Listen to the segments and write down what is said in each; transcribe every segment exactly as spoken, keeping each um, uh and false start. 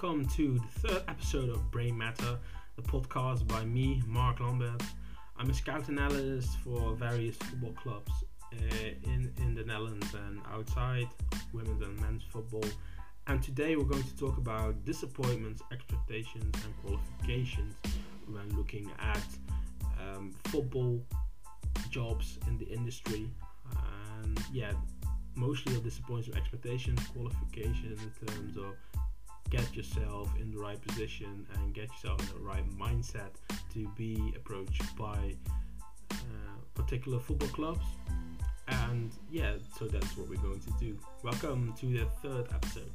welcome to the third episode of Brain Matter, the podcast by me, Mark Lambert. I'm a scout and analyst for various football clubs uh, in, in the Netherlands and outside, women's and men's football. And today we're going to talk about disappointments, expectations and qualifications when looking at um, football jobs in the industry. And yeah, mostly of disappointments, expectations, qualifications in terms of get yourself in the right position and get yourself in the right mindset to be approached by uh, particular football clubs. And yeah, so that's what we're going to do. Welcome to the third episode.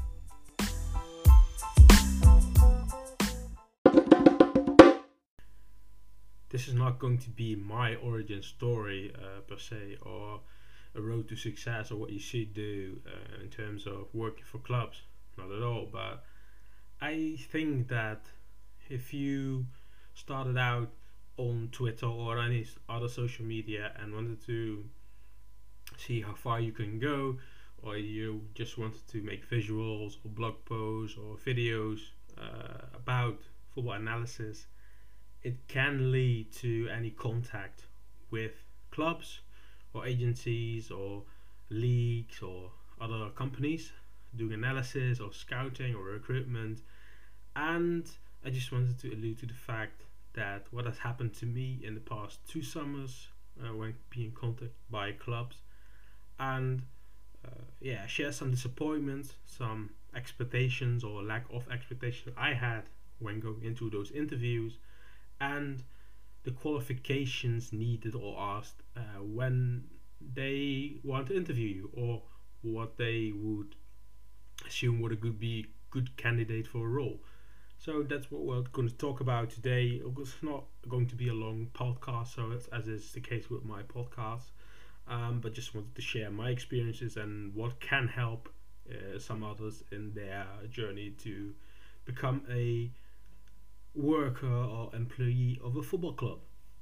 This is not going to be my origin story uh, per se, or a road to success, or what you should do uh, in terms of working for clubs. Not at all, but I think that if you started out on Twitter or any other social media and wanted to see how far you can go, or you just wanted to make visuals or blog posts or videos uh, about football analysis, it can lead to any contact with clubs or agencies or leagues or other companies doing analysis or scouting or recruitment. And I just wanted to allude to the fact that what has happened to me in the past two summers uh, when being contacted by clubs, and uh, yeah, share some disappointments, some expectations or lack of expectations I had when going into those interviews, and the qualifications needed or asked uh, when they want to interview you, or what they would assume would a good be good candidate for a role. So that's what we're going to talk about today. It's not going to be a long podcast, so it's, as is the case with my podcast, um, but just wanted to share my experiences and what can help uh, some others in their journey to become a worker or employee of a football club.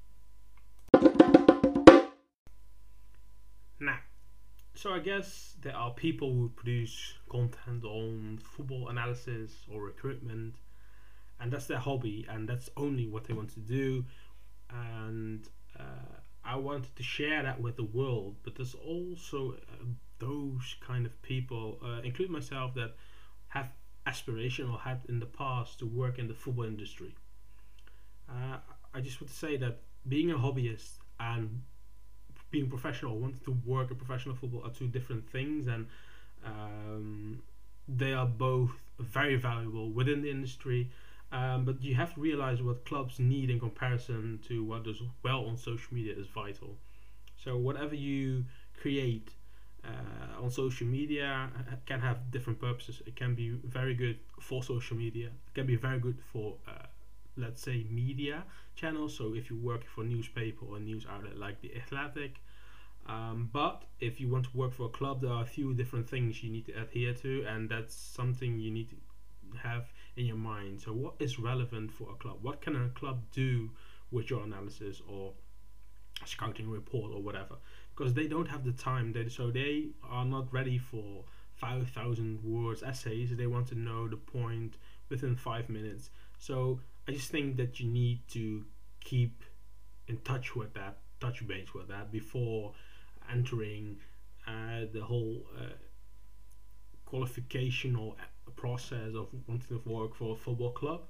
Now, so I guess there are people who produce content on football analysis or recruitment, and that's their hobby, and that's only what they want to do. And uh, I wanted to share that with the world, but there's also uh, those kind of people, uh, including myself, that have aspiration or had in the past to work in the football industry. Uh, I just want to say that being a hobbyist and being professional, wanting to work in professional football, are two different things, and um, they are both very valuable within the industry. Um, but you have to realize what clubs need in comparison to what does well on social media is vital. So whatever you create uh, on social media can have different purposes. It can be very good for social media. It can be very good for uh, let's say media channels, so if you're working for a newspaper or a news outlet like The Athletic. Um, but if you want to work for a club, there are a few different things you need to adhere to, and that's something you need to have in your mind. So what is relevant for a club? What can a club do with your analysis or scouting report or whatever? Because they don't have the time, they, so they are not ready for five thousand words essays. They want to know the point within five minutes. So I just think that you need to keep in touch with that, touch base with that before entering uh, the whole uh, qualification or process of wanting to work for a football club.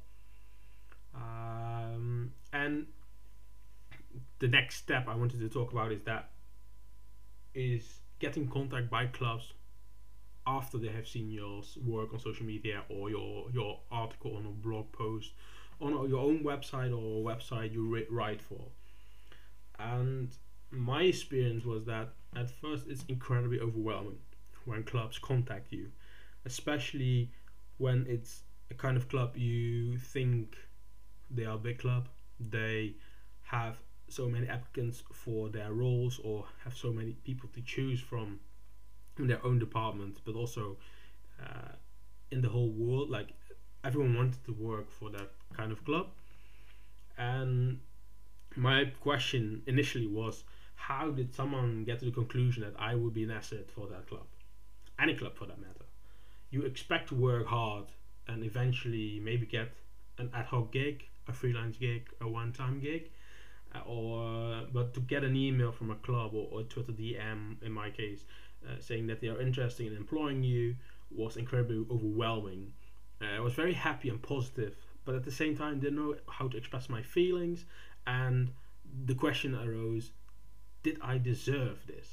Um, and the next step I wanted to talk about is that is getting contact by clubs after they have seen your work on social media or your your article on a blog post on your own website or a website you write for. And my experience was that at first it's incredibly overwhelming when clubs contact you, especially when it's a kind of club you think they are a big club, they have so many applicants for their roles or have so many people to choose from in their own department, but also uh, in the whole world. Like, everyone wanted to work for that kind of club. And my question initially was, how did someone get to the conclusion that I would be an asset for that club? Any club for that matter. You expect to work hard and eventually maybe get an ad hoc gig, a freelance gig, a one-time gig, uh, or but to get an email from a club or, or Twitter D M in my case, uh, saying that they are interested in employing you was incredibly overwhelming. Uh, I was very happy and positive, but at the same time didn't know how to express my feelings, and the question arose: did I deserve this?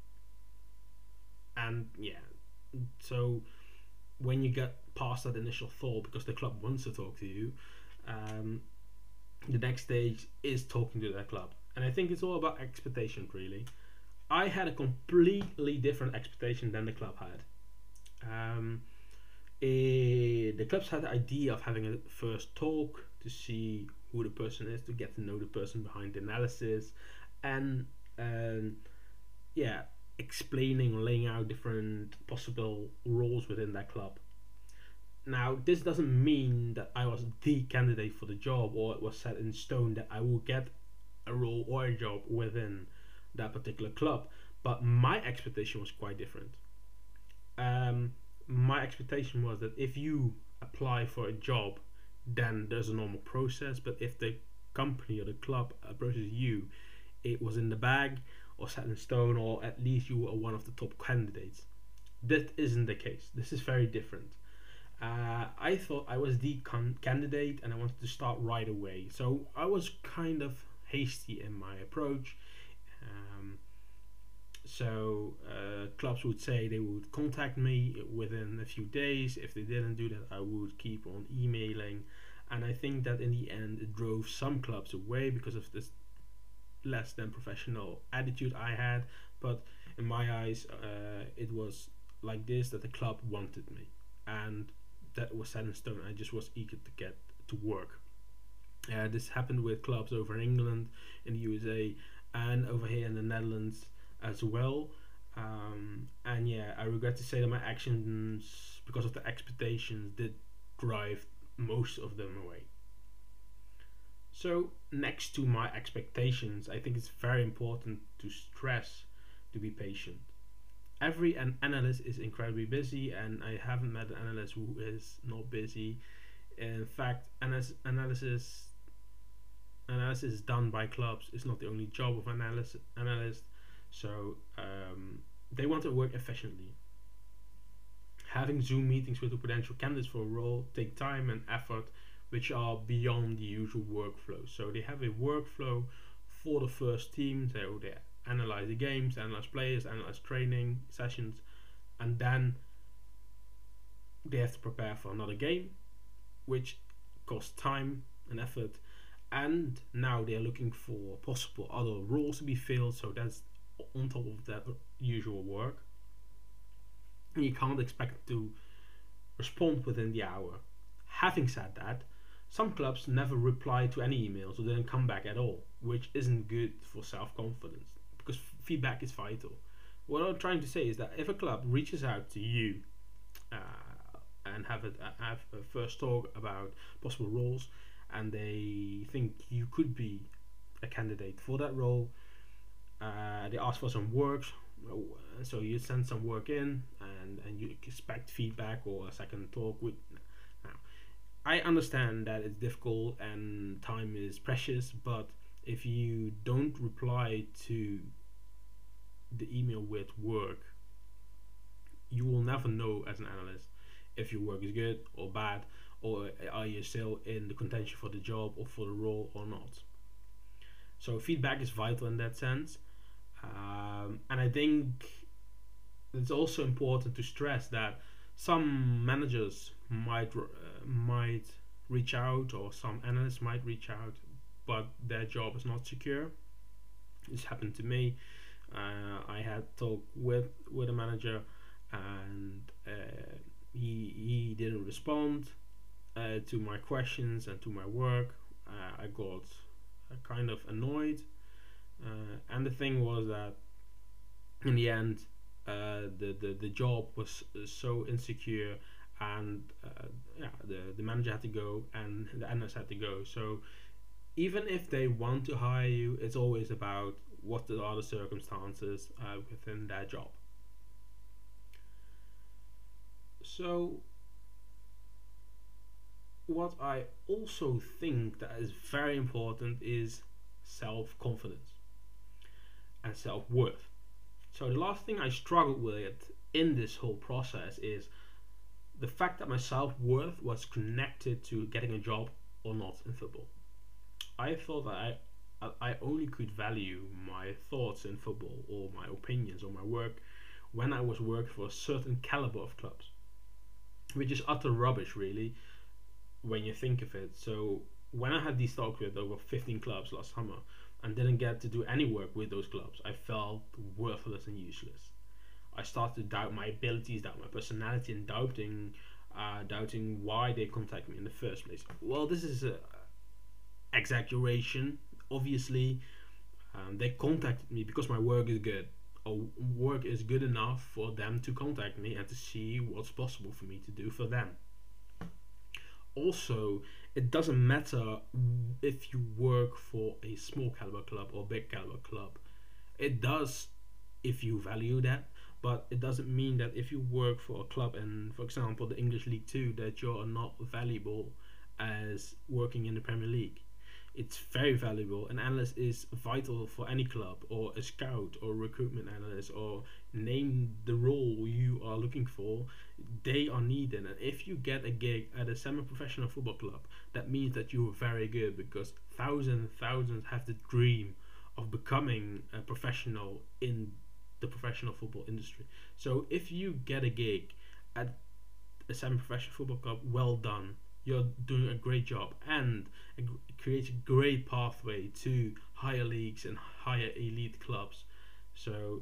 And yeah, so when you get past that initial thought, because the club wants to talk to you, um, the next stage is talking to that club. And I think it's all about expectations, really. I had a completely different expectation than the club had. Um, eh, the clubs had the idea of having a first talk to see who the person is, to get to know the person behind the analysis, and um, yeah, explaining, laying out different possible roles within that club. Now, this doesn't mean that I was the candidate for the job or it was set in stone that I will get a role or a job within that particular club, but my expectation was quite different. Um, my expectation was that if you apply for a job, then there's a normal process, but if the company or the club approaches you, it was in the bag or set in stone, or at least you were one of the top candidates. That isn't the case. This is very different. Uh, I thought I was the con- candidate and I wanted to start right away. So I was kind of hasty in my approach. Um, so uh, clubs would say they would contact me within a few days. If they didn't do that, I would keep on emailing. And I think that in the end it drove some clubs away because of this less than professional attitude I had. But in my eyes, uh, it was like this, that the club wanted me. And that was set in stone. I just was eager to get to work. Uh, this happened with clubs over in England, in the U S A, and over here in the Netherlands as well. Um, and yeah, I regret to say that my actions, because of the expectations, did drive most of them away. So, next to my expectations, I think it's very important to stress to be patient. Every an analyst is incredibly busy, and I haven't met an analyst who is not busy. In fact, analysis analysis analysis done by clubs is not the only job of an analyst. Analyst, so um, they want to work efficiently. Having Zoom meetings with the potential candidates for a role take time and effort, which are beyond the usual workflow. So they have a workflow for the first team. So they analyze the games, analyze players, analyze training sessions, and then they have to prepare for another game, which costs time and effort. And now they're looking for possible other roles to be filled, so that's on top of that usual work. And you can't expect to respond within the hour. Having said that, some clubs never reply to any emails or didn't come back at all, which isn't good for self-confidence, because feedback is vital. What I'm trying to say is that if a club reaches out to you uh, and have a, have a first talk about possible roles, and they think you could be a candidate for that role, uh, they ask for some work, so you send some work in, and, and you expect feedback or a second talk with. Now, I understand that it's difficult and time is precious, but if you don't reply to the email with work, you will never know as an analyst if your work is good or bad, or are you still in the contention for the job or for the role or not. So feedback is vital in that sense, um, and I think it's also important to stress that some managers might uh, might reach out, or some analysts might reach out, but their job is not secure. This happened to me. Uh, I had talk with with a manager, and uh, he he didn't respond uh, to my questions and to my work. Uh, I got uh, kind of annoyed, uh, and the thing was that in the end, uh, the, the the job was so insecure, and uh, yeah, the the manager had to go and the analyst had to go. So even if they want to hire you, it's always about what are the circumstances uh, within their job. So what I also think that is very important is self-confidence and self-worth. So the last thing I struggled with in this whole process is the fact that my self-worth was connected to getting a job or not in football. I thought that I I only could value my thoughts in football or my opinions or my work when I was working for a certain caliber of clubs, which is utter rubbish, really, when you think of it. So when I had these talks with over fifteen clubs last summer and didn't get to do any work with those clubs, I felt worthless and useless. I started to doubt my abilities, doubt my personality, and doubting, uh, doubting why they contact me in the first place. Well, this is a exaggeration. Obviously, um, they contacted me because my work is good, or work is good enough for them to contact me and to see what's possible for me to do for them. Also, it doesn't matter if you work for a small caliber club or big caliber club. It does if you value that, but it doesn't mean that if you work for a club in, for example, the English League Two, that you're not valuable as working in the Premier League. It's very valuable. An analyst is vital for any club, or a scout or recruitment analyst, or name the role you are looking for. They are needed, and if you get a gig at a semi-professional football club, that means that you are very good, because thousands and thousands have the dream of becoming a professional in the professional football industry. So if you get a gig at a semi-professional football club, well done. You're doing a great job, and it creates a great pathway to higher leagues and higher elite clubs. So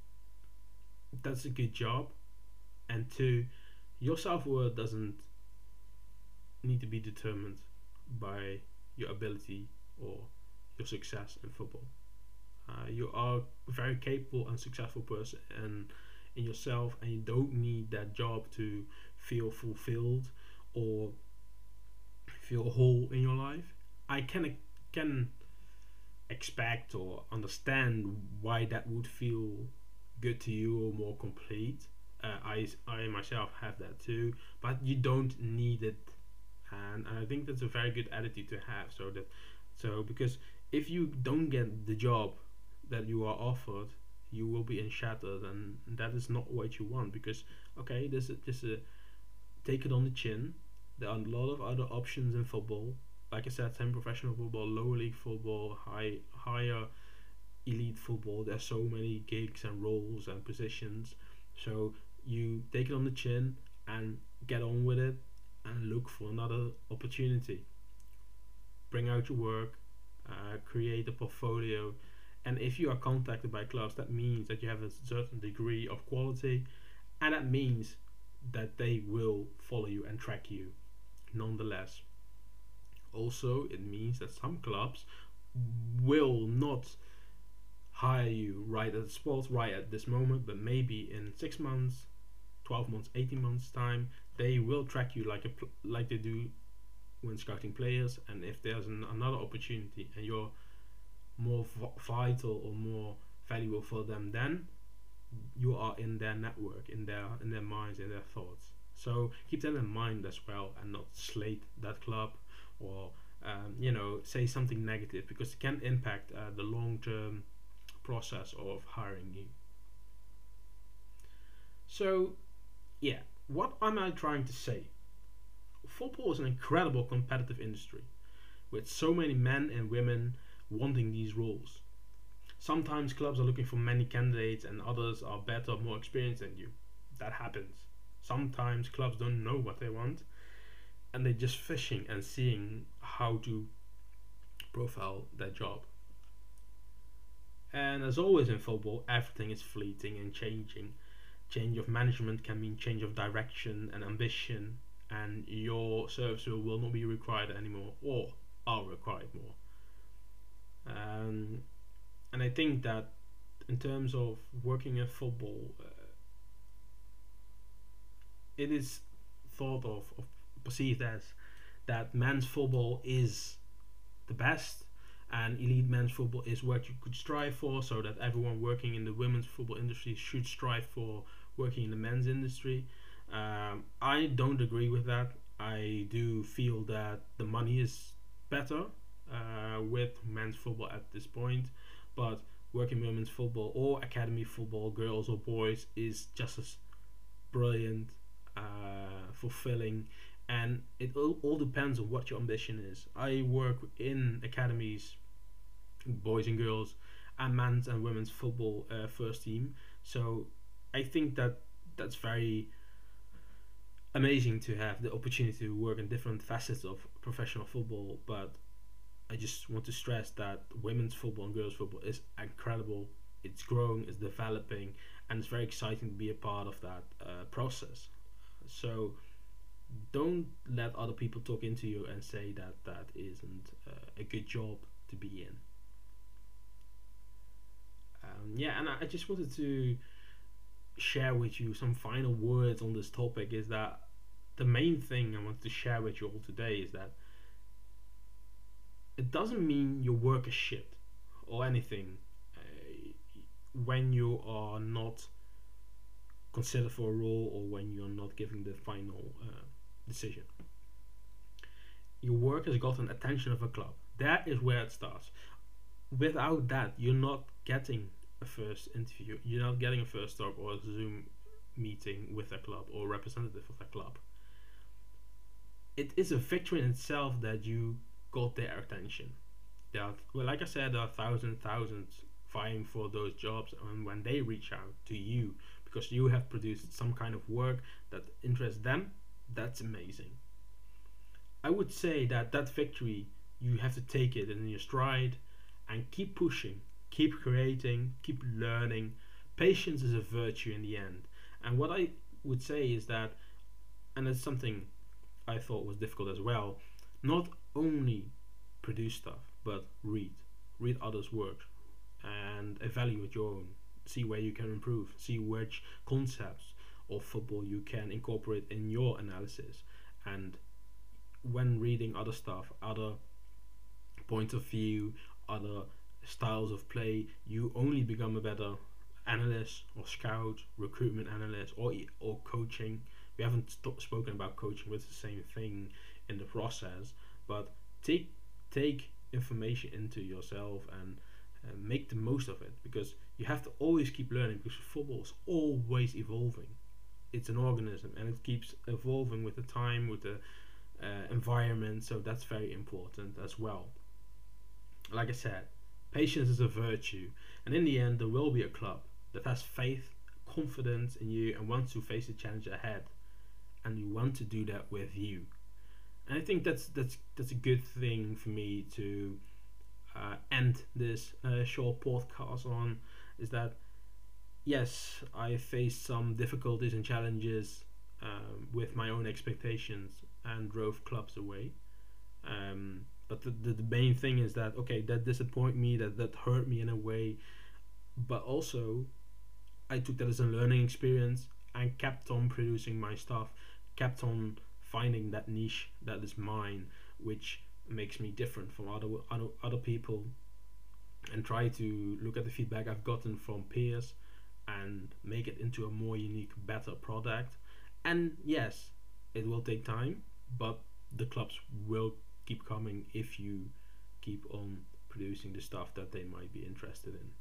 that's a good job. And two, your self-worth doesn't need to be determined by your ability or your success in football. Uh, you are a very capable and successful person and in yourself, and you don't need that job to feel fulfilled or feel whole in your life. I can can expect or understand why that would feel good to you or more complete. Uh, I I myself have that too, but you don't need it, and I think that's a very good attitude to have. So that so because if you don't get the job that you are offered, you will be shattered, and that is not what you want. Because okay, this is just a take it on the chin. There are a lot of other options in football. Like I said, semi-professional football, lower league football, high, higher elite football. There's so many gigs and roles and positions. So you take it on the chin and get on with it and look for another opportunity. Bring out your work, uh, create a portfolio. And if you are contacted by clubs, that means that you have a certain degree of quality, and that means that they will follow you and track you nonetheless. Also, it means that some clubs will not hire you right at the spot, right at this moment, but maybe in six months, twelve months, eighteen months time, they will track you like a pl- like they do when scouting players. And if there's an, another opportunity and you're more v- vital or more valuable for them, then you are in their network, in their in their minds, in their thoughts. So keep that in mind as well, and not slate that club or um, you know say something negative, because it can impact uh, the long-term process of hiring you. So yeah, what am I trying to say? Football is an incredible competitive industry with so many men and women wanting these roles. Sometimes clubs are looking for many candidates and others are better, more experienced than you. That happens. Sometimes clubs don't know what they want and they're just fishing and seeing how to profile their job. And as always in football, everything is fleeting and changing. Change of management can mean change of direction and ambition, and your service will, will not be required anymore, or are required more. Um, and I think that in terms of working in football, uh, it is thought of, of perceived as that men's football is the best, and elite men's football is what you could strive for, so that everyone working in the women's football industry should strive for working in the men's industry. Um, I don't agree with that. I do feel that the money is better uh, with men's football at this point, but working women's football or academy football, girls or boys, is just as brilliant, uh, fulfilling, and it all, all depends on what your ambition is. I work in academies, boys and girls, and men's and women's football uh, first team. So I think that that's very amazing to have the opportunity to work in different facets of professional football. But I just want to stress that women's football and girls football is incredible. It's growing, it's developing, and it's very exciting to be a part of that uh, process. So don't let other people talk into you and say that that isn't uh, a good job to be in. Um, yeah, and I, I just wanted to share with you some final words on this topic. Is that the main thing I wanted to share with you all today is that it doesn't mean your work is shit or anything uh, when you are not considered for a role or when you're not giving the final uh, decision. Your work has gotten attention of a club. That is where it starts. Without that, you're not getting a first interview. You're not getting a first talk or a Zoom meeting with a club or representative of a club. It is a victory in itself that you got their attention. There are, well, like I said, there are thousands, thousands vying for those jobs, and when they reach out to you because you have produced some kind of work that interests them, that's amazing. I would say that that victory, you have to take it in your stride and keep pushing, keep creating, keep learning. Patience is a virtue in the end. And what I would say is that, and it's something I thought was difficult as well, not only produce stuff, but read. Read others' work and evaluate your own. See where you can improve. See which concepts of football you can incorporate in your analysis. And when reading other stuff, other points of view, other styles of play, you only become a better analyst or scout, recruitment analyst, or or coaching. We haven't st- spoken about coaching, but it's the same thing in the process. But take take information into yourself and uh, make the most of it, because you have to always keep learning, because football is always evolving. It's an organism and it keeps evolving with the time, with the uh, environment, so that's very important as well. Like I said, patience is a virtue, and in the end there will be a club that has faith, confidence in you, and wants to face the challenge ahead, and you want to do that with you. And I think that's that's that's a good thing for me to uh, end this uh, short podcast on, is that yes, I faced some difficulties and challenges um, with my own expectations and drove clubs away. Um, but the, the, the main thing is that, okay, that disappointed me, that, that hurt me in a way, but also I took that as a learning experience and kept on producing my stuff, kept on finding that niche that is mine, which makes me different from other other, other people, and try to look at the feedback I've gotten from peers and make it into a more unique, better product. And yes, it will take time, but the clubs will keep coming if you keep on producing the stuff that they might be interested in.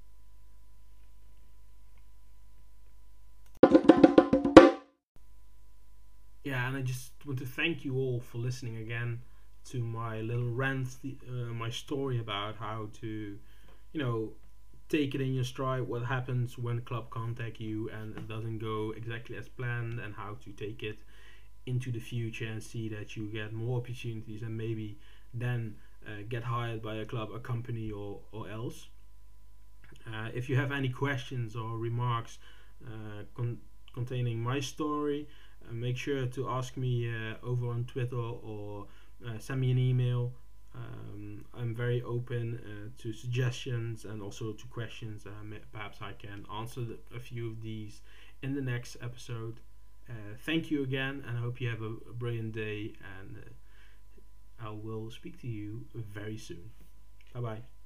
Yeah, and I just want to thank you all for listening again to my little rant, the, uh, my story about how to, you know, take it in your stride, what happens when a club contact you and it doesn't go exactly as planned, and how to take it into the future and see that you get more opportunities and maybe then uh, get hired by a club, a company, or, or else. Uh, if you have any questions or remarks uh, con- containing my story, uh, make sure to ask me uh, over on Twitter, or uh, send me an email. Um, I'm very open uh, to suggestions and also to questions. Uh, perhaps I can answer the, a few of these in the next episode. Uh, thank you again, and I hope you have a, a brilliant day, and uh, I will speak to you very soon. Bye bye.